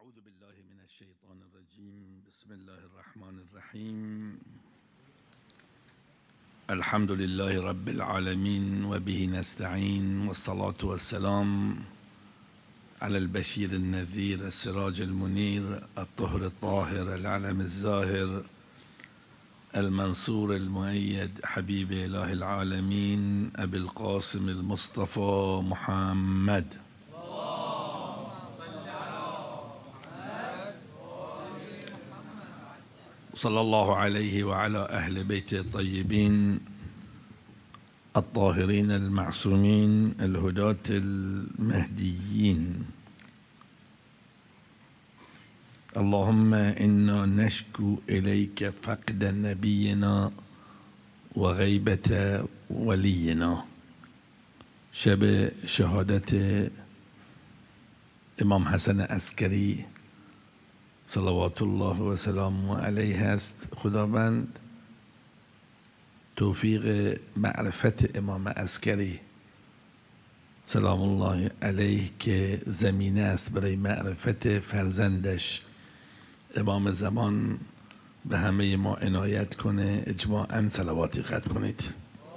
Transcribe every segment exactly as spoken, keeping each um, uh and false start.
أعوذ بالله من الشيطان الرجيم. بسم الله الرحمن الرحيم. الحمد لله رب العالمين وبه نستعين، والصلاة والسلام على البشير النذير السراج المنير الطهر الطاهر العلم الزاهر المنصور المؤيد حبيب إله العالمين أبي القاسم المصطفى محمد صلى الله عليه وعلى أهل بيته الطيبين الطاهرين المعصومين الهداة المهديين. اللهم إنا نشكو إليك فقد نبينا وغيبة ولينا. شب شهادة امام حسن عسکری صلوات الله و سلامه علیه است. خداوند توفیق معرفت امام عسکری سلام الله علیه که زمینه است برای معرفت فرزندش امام زمان به همه ما عنایت کنه. اجماعاً صلواتی ختم کنید.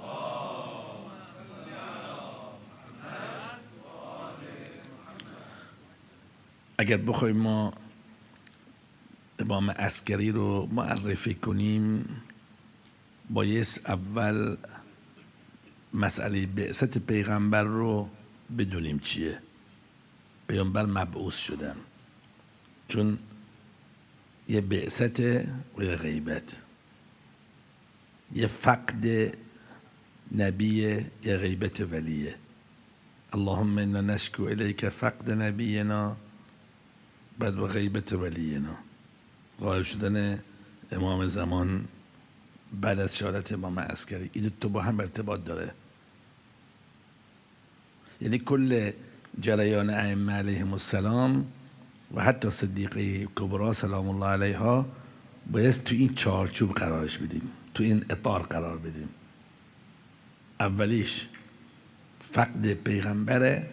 اگر بخوایم ما امام عسکری رو معرفی کنیم، بایست اول مسئله بعثت پیغمبر رو بدونیم چیه. پیغمبر مبعوث شدن، چون یه بعثت و یه غیبت، یه فقد نبیه یه غیبت ولیه. اللهم انا نشکو الیک فقد نبینا بعد و غیبت ولینا، غایب شدن امام زمان بعد از شهادت امام عسکری. این دو با هم ارتباط داره. یعنی کل جریان ائمه علیهم السلام و حتی صدیقه کبرا سلام الله علیها باید تو این چارچوب قرارش بدیم، تو این اطار قرار بدیم. اولیش فقد پیغمبره،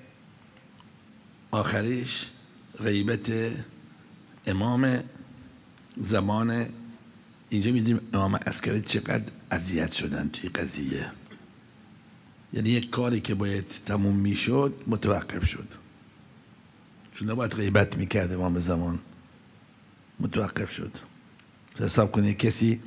آخریش غیبت امام زمان. اینجا میدیم امام عسکری چقدر اذیت شدن توی قضیه. یعنی یک کاری که باید تموم میشد متوقف شد، چون نباید غیبت میکرد امام زمان، متوقف شد. حساب کنید کسی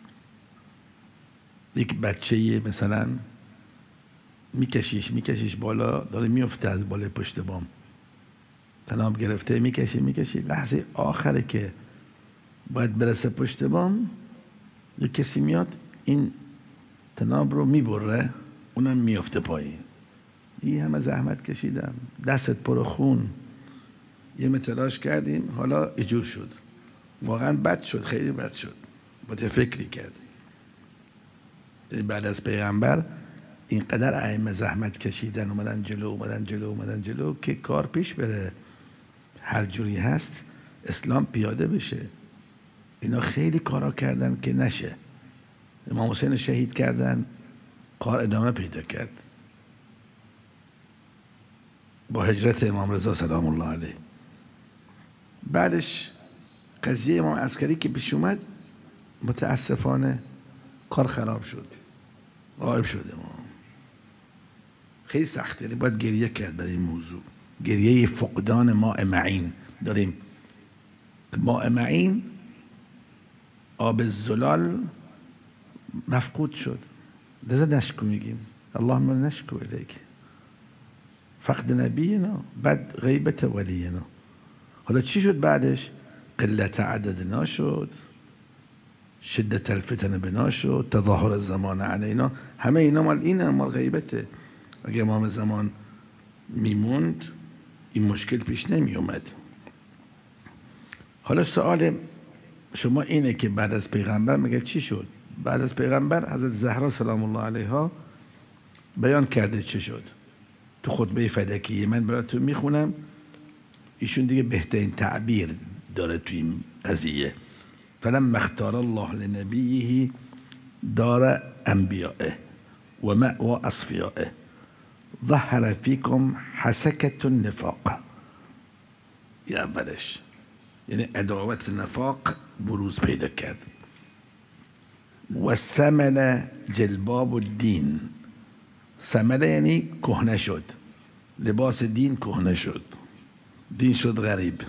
یک بچه مثلا میکشیش میکشیش بالا، داره میفته از بالای پشت بام، تناب گرفته، میکشی میکشی، لحظه آخره که باید برسه پشت بام، یک کسی میاد این تناب رو میبره، اونم میفته پایین. این همه زحمت کشیدم، دستت پر خون، یه متلاش کردیم، حالا اجور شد. واقعا بد شد، خیلی بد شد. باید فکری کرد. بعد از پیغمبر اینقدر ائمه زحمت کشیدن، اومدن جلو اومدن جلو اومدن جلو که کار پیش بره، هر جوری هست اسلام پیاده بشه. اینا خیلی کارا کردن که نشه. امام حسین شهید کردن، کار ادامه پیدا کرد با هجرت امام رضا سلام الله علیه. بعدش قضیه امام عسکری که پیش اومد، متاسفانه کار خراب شد، غایب شد امام. خیلی سخته، باید گریه کرد برای این موضوع. گریه فقدان ماء معین داریم. ماء معین، آب الزلال، مفقود شد. لذا نشکو میگیم اللهم نشکو الیک فقد نبینا بعد غیبت ولینا. حالا چی شد بعدش؟ قلت عددنا شد، شدت الفتن بنا شد، تظاهر الزمان علینا. همه اینا مال اینه، مال غیبته. اگه امام زمان میموند این مشکل پیش نمی اومد. حالا سوال شما اینه که بعد از پیغمبر مگه چی شد؟ بعد از پیغمبر حضرت زهرا سلام الله علیها بیان کرده چه شد. تو خطبه فدکیه من براتون میخونم، ایشون دیگه بهترین تعبیر داره تو این قضیه. فلما اختار الله لنبیه دار انبیائه و مأوى اصفیائه ظهر فیکم حسکة النفاق. یه اولش یعنی عداوت نفاق بروز پیدا کرد. و سمن جلباب الدین، سمنه یعنی کهنه شد، لباس دین کهنه شد، دین شد غریب.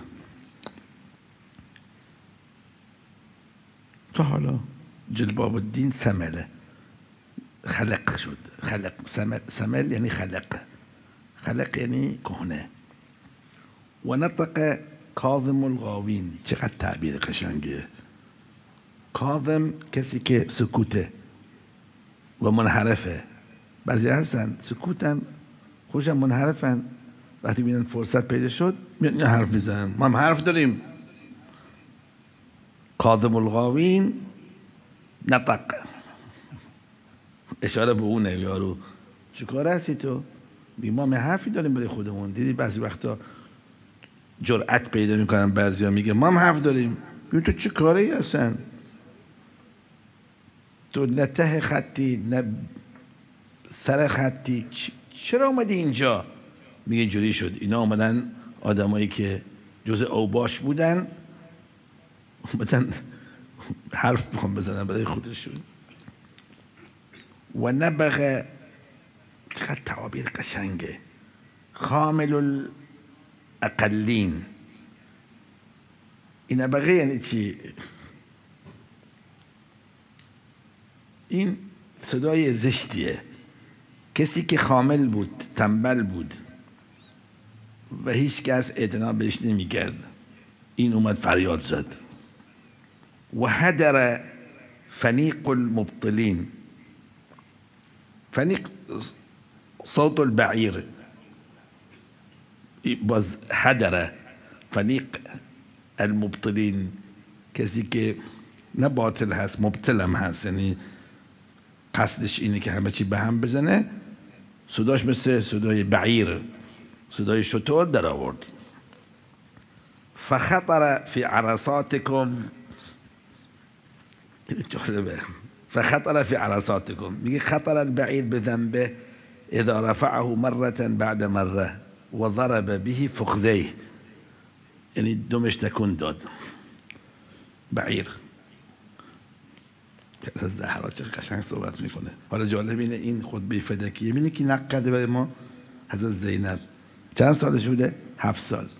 تا حالا جلباب الدین سمله، خلق شد. خلق سمل, سمل یعنی خلق، خلق یعنی کهنه. و نطق کاظم الغاوین، چقدر تعبیر قشنگه. کاظم کسی که سکوته و منحرفه. بعضی هستن سکوتن خوشم منحرفن، وقتی بینن فرصت پیدا شد میان حرف میزنن. ما هم حرف داریم. کاظم الغاوین نطق، اشاره به اونه. یارو چیکار هستی تو؟ بی ما حرفی داریم برای خودمون. دیدی بعضی وقتا جرأت پیدا میکنن بعضیا میگه ما هم حرف داریم. ببین تو چه کاری هستن؟ تو نه ته خطی نه سر خطی، چرا اومدی اینجا؟ میگه اینجوری شد. اینا اومدن آدمایی که جز اوباش بودن، اومدن حرف میخوام بزنن برای خودشون. و نبغه، چقدر تعابیر قشنگه. خامل الاقلین، این نبغه یعنی چی؟ این صدای زشتیه. کسی که خامل بود، تنبل بود و هیچ کس اعتنا بهش نمی‌کرد، این اومد فریاد زد. و هدر فنیق المبطلین، فنیق صوت البعیر، باز هدر فنیق المبطلین، کسی که نه باطل هست مبطل هم هست، یعنی قصدش اینه که همه چی به هم بزنه. صداش مثل صدای بعیر، صدای شتر در آورد. فخطر فی عرصاتکم، جالبه. فخطر فی عرصاتکم، میگه خطر البعیر بذنبه اذا رفعه مرة بعد مره و ضرب به فخذیه، یعنی دمش تکون داد. بعیر از زهرا چه قشنگ صحبت میکنه. حالا جالب اینه این خطبه فدکیه میبینی که نقل کرده برای ما حضرت زینب. چند سالش بوده؟ هفت سال.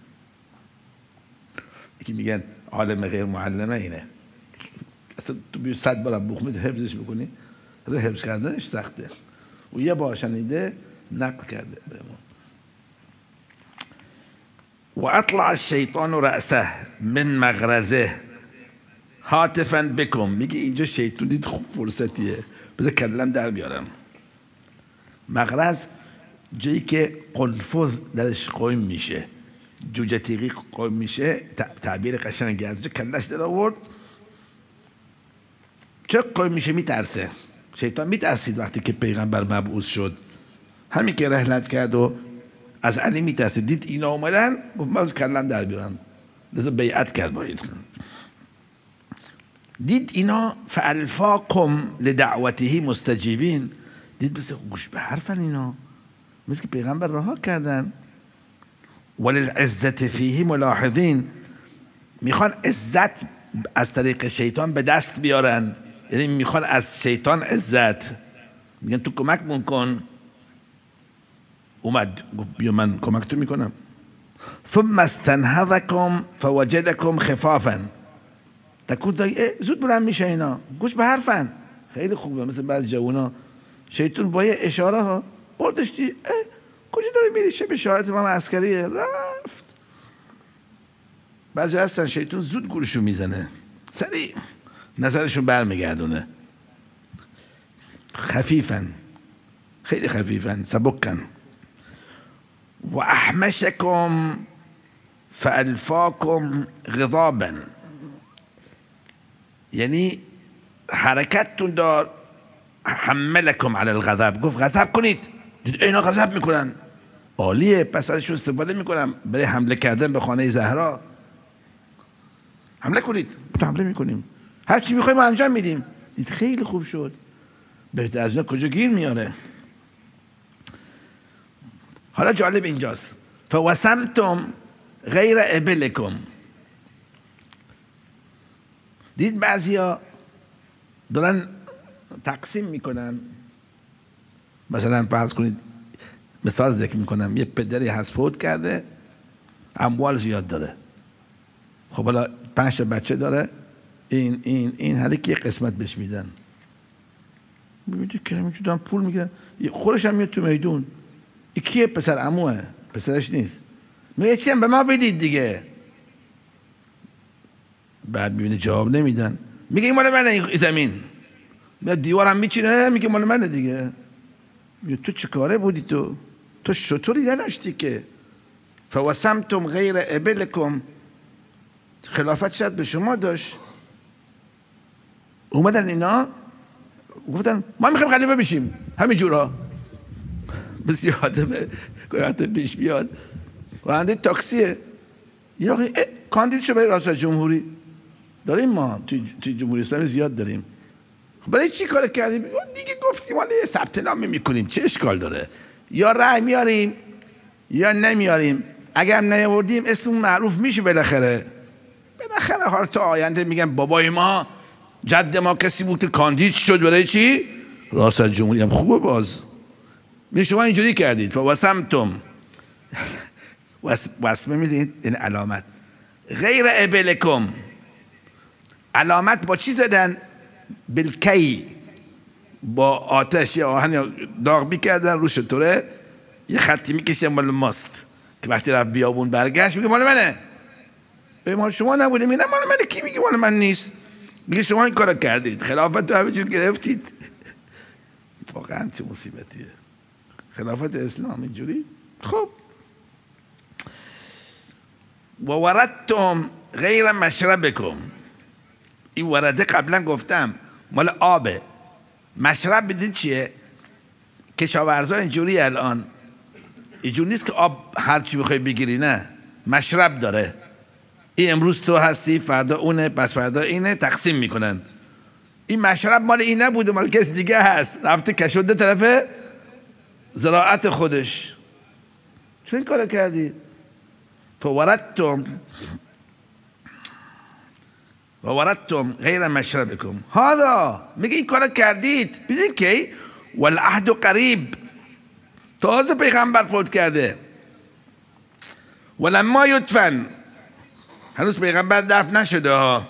یکی میگن عالم غیر معلمه اینه، اصلا تو بیو صد بار بخمید حفظش بکنی، حفظ کردنش سخته. و یه بار شنیده نقل کرده برای ما. و اطلع الشیطان رأسه من مغرزه هاتفا بکم، میگه اینجا شیطان دید خوب فرصتیه بذار کلم در بیارم. مغرز جایی که قنفذ درش قایم میشه، جوجه تیغی قایم میشه، تعبیر قشنگی از جا کلش در آورد. چه قایم میشه؟ میترسه. شیطان میترسید وقتی که پیغمبر مبعوث شد، همین که رحلت کرد و از علی میترسید، دید اینا اومدن گفت من از کلم در بیارم، لذا بیعت کرد با این. دید اینا فالفاکم لدعوته مستجیبین، دید بس گوش به حرفن اینا، مثل که پیغمبر رها کردن. وللعزت فیه ملاحظین، میخوان عزت از طریق شیطان به دست بیارن، یعنی میخوان از شیطان عزت. میگن تو کمک مون کن. اومد گفت بیا من کمک تو میکنم. ثم استنهضکم فوجدکم خفافا، تکون دایی زود بلند میشه اینا، گوش به حرفن. خیلی خوبه. مثل بعض جوونا شیطان با یه اشاره ها بردش دی کجا داری میری؟ شب شهادت امام عسکریه رفت. بعضی هستن شیطان زود گورشو میزنه، سریع نظرشون برمیگردونه. خفیفن، خیلی خفیفن، سبکن. و احمشکم فالفاکم غضابا، یعنی حرکتتون دار. حملکم علی الغضب، گفت غضب کنید. دید اینا غضب میکنن، عالیه، پس ازشون استفاده میکنم برای حمله کردن به خانه زهرا. حمله کنید. حمله میکنیم، هر چی میخوایم ما انجام میدیم. دید خیلی خوب شد، بهتر از اینا کجا گیر میاره. حالا جالب اینجاست. فوسمتم غیر ابلکم، دید بعضیا دارن تقسیم میکنن. مثلا فرض کنید، مثال ذکر میکنم، یه پدری هست فوت کرده، اموال زیاد داره، خب حالا پنج تا بچه داره، این این این هر کی قسمت بهش میدن. میبینید که همینجور پول میگیرن، خودش هم میاد تو میدون، این کیه؟ پسر عموه، پسرش نیست. میگه چی هم به ما بدید دیگه. بعد میبینه جواب نمیدن، میگه این مال منه این زمین. میاد دیوارم میچینه، میگه مال منه دیگه. میگه تو چه کاره بودی؟ تو تو شطوری نداشتی که فوسمتم غیر ابلکم، خلافت شاید به شما داشت. اومدن اینا گفتن ما میخوایم خلیفه بشیم همین جورا. بس یادمه گویاته پیش بیاد راننده تاکسیه، یا کاندید شو برای ریاست جمهوری. داریم ما توی جمهوری اسلامی زیاد داریم. خب برای چی کار کردیم؟ دیگه گفتیم حالا یه ثبت نام میکنیم، چه اشکال داره؟ یا رأی میاریم یا نمیاریم. اگر هم نیاوردیم اسممون معروف میشه بالاخره. بالاخره حالا تا آینده میگن بابای ما جد ما کسی بود که کاندید شد برای چی؟ ریاست جمهوری. هم خوبه باز. می شما اینجوری کردید فوسمتم وسمه میدید این علامت غیر ابلکم. علامت با چی زدن؟ بالکی، با آتش یا آهن داغ میکردن روش طوره، یه خطی میکشن مال ماست که وقتی رفت بیابون برگشت میگه مال منه. به مال شما نبوده؟ میگه مال منه. کی میگه مال من نیست؟ میگه شما این کارو کردید، خلافت رو همه جور گرفتید. واقعا چه مصیبتیه خلافت اسلام اینجوری. خب و وردتم غیر مشربکم. این ورده قبلا گفتم مال آبه. مشرب بدید چیه؟ کشاورزا اینجوری الان اینجوری نیست که آب هرچی بخوای بگیری، نه، مشرب داره. این امروز تو هستی، فردا اونه، پس فردا اینه، تقسیم میکنن. این مشرب مال این نبوده، مال کس دیگه هست، رفته کشونده طرف زراعت خودش. چون این کار کردی؟ فوردتم ووردتم غیر مشربکم هذا. میگه این کار کردید. ببینید که والعهد قریب، تازه پیغمبر فوت کرده. ولما یدفن، هنوز پیغمبر دفن نشده ها.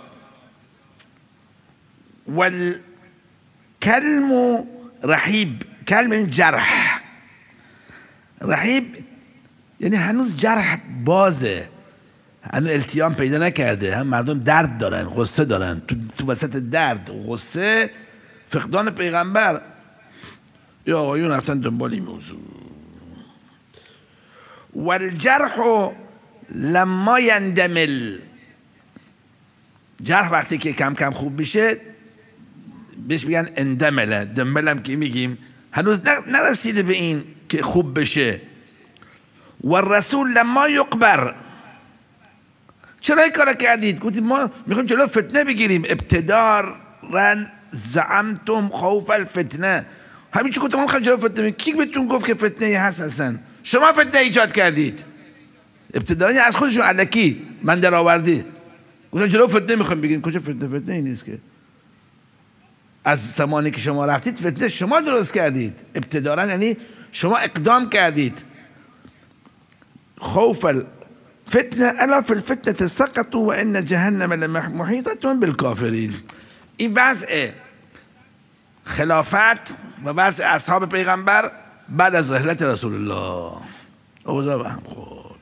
والکلم رحیب، کلم این جرح، رحیب یعنی هنوز جرح بازه، هنوز التیام پیدا نکرده. هم مردم درد دارن، غصه دارن، تو, تو وسط درد غصه فقدان پیغمبر. یا آقایون رفتن دنبال این موضوع. والجرح لما یندمل، جرح وقتی که کم کم خوب میشه بهش میگن اندمله. دملم که میگیم هنوز نرسیده به این که خوب بشه. والرسول لما یقبر، چرا این کار کردید؟ گفتید ما میخوایم جلو فتنه بگیریم. ابتدارا زعمتم خوف الفتنه، همین چی گفتم ما میخوایم جلو فتنه بگیریم. کی بهتون گفت که فتنه هست اصلا؟ شما فتنه ایجاد کردید. ابتدارا از خودشون الکی من در آوردی گفتن جلو فتنه میخوایم بگیریم. کجا فتنه؟ فتنه این نیست که. از زمانی که شما رفتید فتنه شما درست کردید. ابتدارا یعنی شما اقدام کردید. خوف الفتنه الا فی الفتنه سقطوا و ان جهنم لمحیطه بالکافرین. این وضع خلافت و وضع اصحاب پیغمبر بعد از رحلت رسول الله. اوضاع به هم خورد.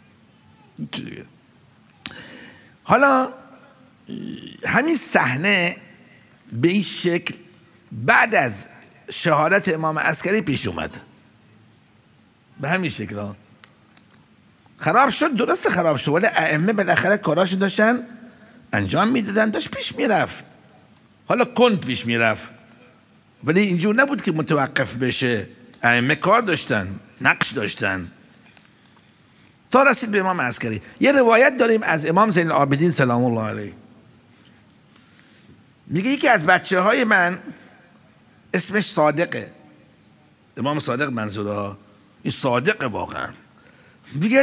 حالا همین صحنه به این شکل بعد از شهادت امام عسکری پیش اومد. به همین شکل ها خراب شد. درست خراب شد، ولی ائمه بالاخره کاراشو داشتن انجام میدادن، داشت پیش میرفت. حالا کند پیش میرفت، ولی اینجور نبود که متوقف بشه. ائمه کار داشتن، نقش داشتن تا رسید به امام عسکری. یه روایت داریم از امام زین العابدین سلام الله علیه، میگه یکی از بچه های من اسمش صادقه، امام صادق منظوره ها، این صادقه واقعا. میگه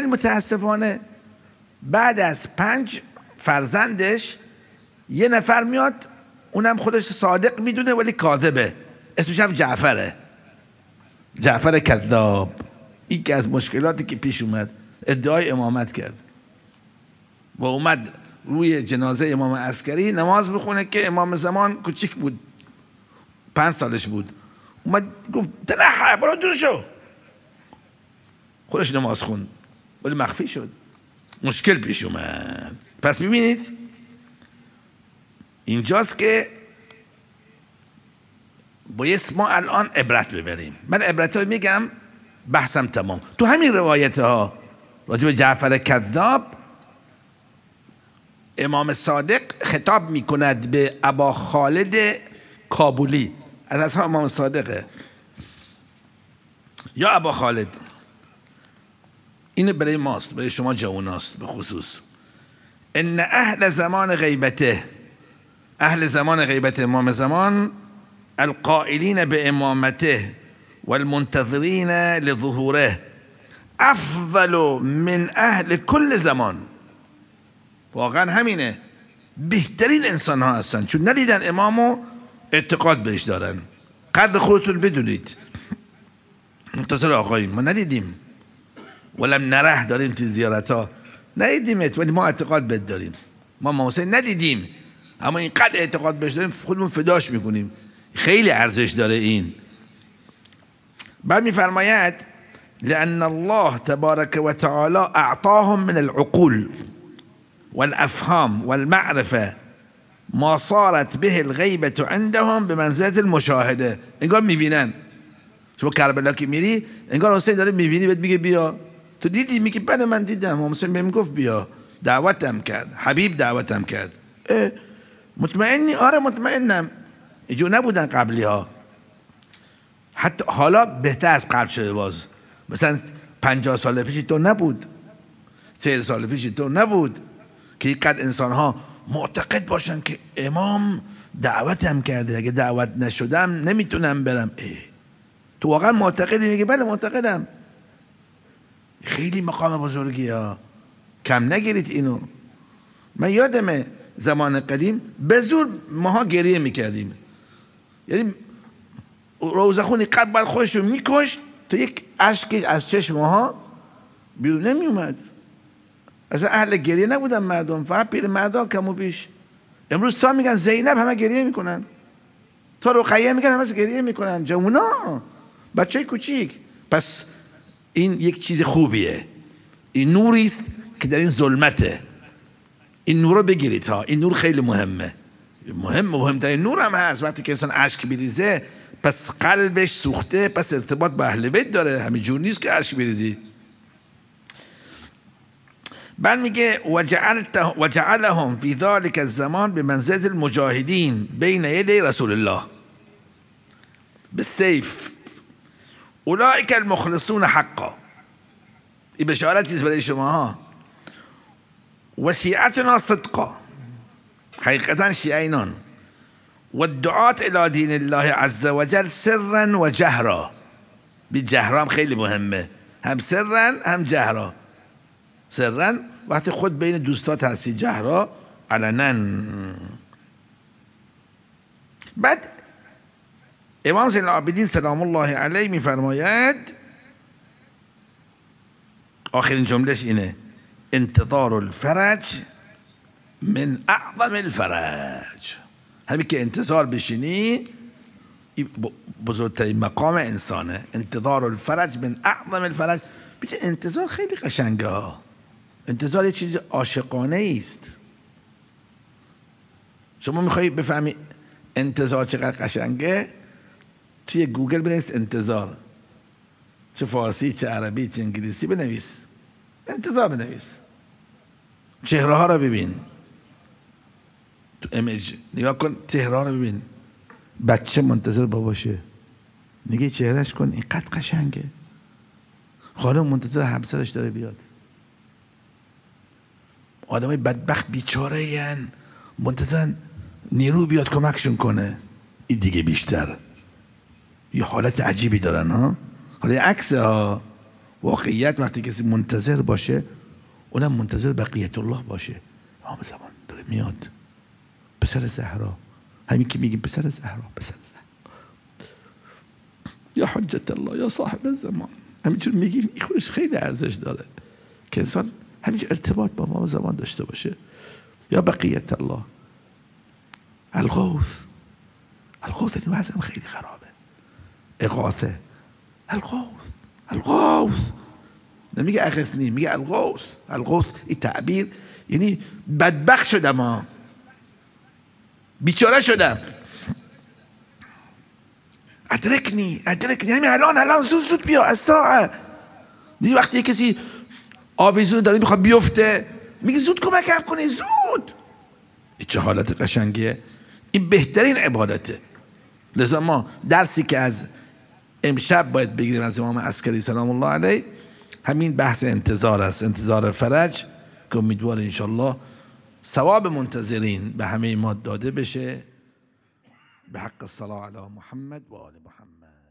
متاسفانه بعد از پنج فرزندش یه نفر میاد اونم خودش صادق میدونه ولی کاذبه، اسمش هم جعفره، جعفر کذاب. این که از مشکلاتی که پیش اومد، ادعای امامت کرد و اومد روی جنازه امام عسکری نماز بخونه که امام زمان کوچیک بود، پنج سالش بود، اومد گفت تنحى برو دور شو، خودش نماز خوند ولی مخفی شد، مشکل پیش اومد. پس ببینید اینجاست که باید ما الان عبرت ببریم. من عبرت رو میگم، بحثم تمام. تو همین روایت ها راجع به جعفر کذاب، امام صادق خطاب میکند به ابا خالد کابولی، از اصحاب امام صادقه، یا ابا خالد، این برای ماست، برای شما جواناست به خصوص. ان اهل زمان غیبته، اهل زمان غیبت امام زمان، القائلین به امامته والمنتظرین لظهوره افضل من اهل کل زمان. واقعا همینه، بهترین انسان ها هستن، چون ندیدن امامو اعتقاد بهش دارن. قدر خودتون بدونید، منتظر آقاییم، ما ندیدیم ولم نره، داریم تو زیارت ها ندیدیمت ولی ما اعتقاد بهت داریم. ما امام حسین ندیدیم اما اینقدر اعتقاد بهش داریم خودمون فداش میکنیم، خیلی ارزش داره این. بعد میفرماید لأن الله تبارك وتعالى اعطاهم من العقول والافهام والمعرفه ما صارت به الغیبة عندهم بمنزلة المشاهده. انگار میبینن، شما کربلا که میری انگار حسین داره میبینی، بهت میگه بیا، تو دیدی؟ میگه بله من دیدم، حسین بهم گفت بیا، دعوتم کرد، حبیب دعوتم کرد. مطمئنی؟ آره مطمئنم. اینجور نبودن قبلی ها، حتی حالا بهتر از قبل شده. باز مثلا پنجاه سال پیش تو نبود، چهل سال پیش تو نبود که اینقدر انسان ها معتقد باشن که امام دعوتم کرده، اگه دعوت نشدم نمیتونم برم. ای تو واقعا معتقدی؟ میگه بله معتقدم. خیلی مقام بزرگی ها، کم نگیرید اینو. من یادمه زمان قدیم به زور ماها گریه میکردیم، یعنی روزخونی قد باید خودشو میکشت تا یک اشک از چشم ماها بیرون نمی اومد. اصلا اهل گریه نبودن مردم، فقط پیر مردا کم و بیش. امروز تا میگن زینب همه گریه میکنن، تا رقیه میگن همه گریه میکنن، جوونا، بچه کوچیک. پس این یک چیز خوبیه، این نوری است که در این ظلمته. این نور رو بگیرید ها، این نور خیلی مهمه، مهم مهمترین نور هم هست. وقتی که انسان اشک بریزه پس قلبش سوخته، پس ارتباط با اهل بیت داره، همین جور نیست که اشک بریزید. بعد میگه وجعلهم فی ذلک الزمان بمنزلة المجاهدین بین یدی رسول الله بالسیف اولئک المخلصون حقا. این بشارتی برای شما ها. و شیعتنا صدقا، حقیقتا شیعینان. و الدعات الى دین الله عز وجل سرا و جهرا. بالجهرا هم خیلی مهمه، هم سرا هم جهرا. سرا وقتی خود بین دوستات هستی، جهرا علنا. بعد امام زین العابدین سلام الله علیه میفرماید، آخرین جملهش اینه: انتظار الفرج من اعظم الفرج. همین که انتظار بشینی بزرگترین مقام انسانه. انتظار الفرج من اعظم الفرج. بیچه انتظار خیلی قشنگه ها. انتظار یه چیز عاشقانه است. شما میخوایی بفهمی انتظار چقدر قشنگه، توی گوگل بنویس انتظار، چه فارسی چه عربی چه انگلیسی بنویس، انتظار بنویس، چهره ها رو ببین، تو ایمیج نگاه کن، چهره ها رو ببین. بچه منتظر باباشه، نگه چهرهش کن اینقدر قشنگه. خانم منتظر همسرش داره بیاد. آدمای بدبخت بیچاره این منتظر نیرو بیاد کمکشون کنه. این دیگه بیشتر یه حالت عجیبی دارن ها. حالا عکس ها، واقعیت وقتی کسی منتظر باشه اونم منتظر بقیت الله باشه. امام زمان داره میاد، پسر زهرا همین که میگیم پسر زهرا، پسر زهرا، یا حجت الله، یا صاحب الزمان، همینجور میگیم این خودش خیلی ارزش داره که انسان همینجور ارتباط با ما زمان داشته باشه. یا بقیت الله، الغوث، الغوث این وضعم خیلی خرابه، اغاثه، الغوث، الغوث، نمیگه اغثنی، میگه الغوث، الغوث. این تعبیر یعنی بدبخت شدم ها، بیچاره شدم، ادرکنی، ادرکنی، همین الان، الان زود زود بیا، از ساعه. دیدی وقتی کسی آویزون داره میخواد بیفته میگه زود کمکم کنی، زود. این چه حالت قشنگیه، این بهترین عبادته. لذا ما درسی که از امشب باید بگیریم از امام عسکری سلام الله علیه همین بحث انتظار است، انتظار فرج، که امیدوار انشالله ثواب منتظرین به همه ما داده بشه. به حق الصلاة علی محمد و آل محمد.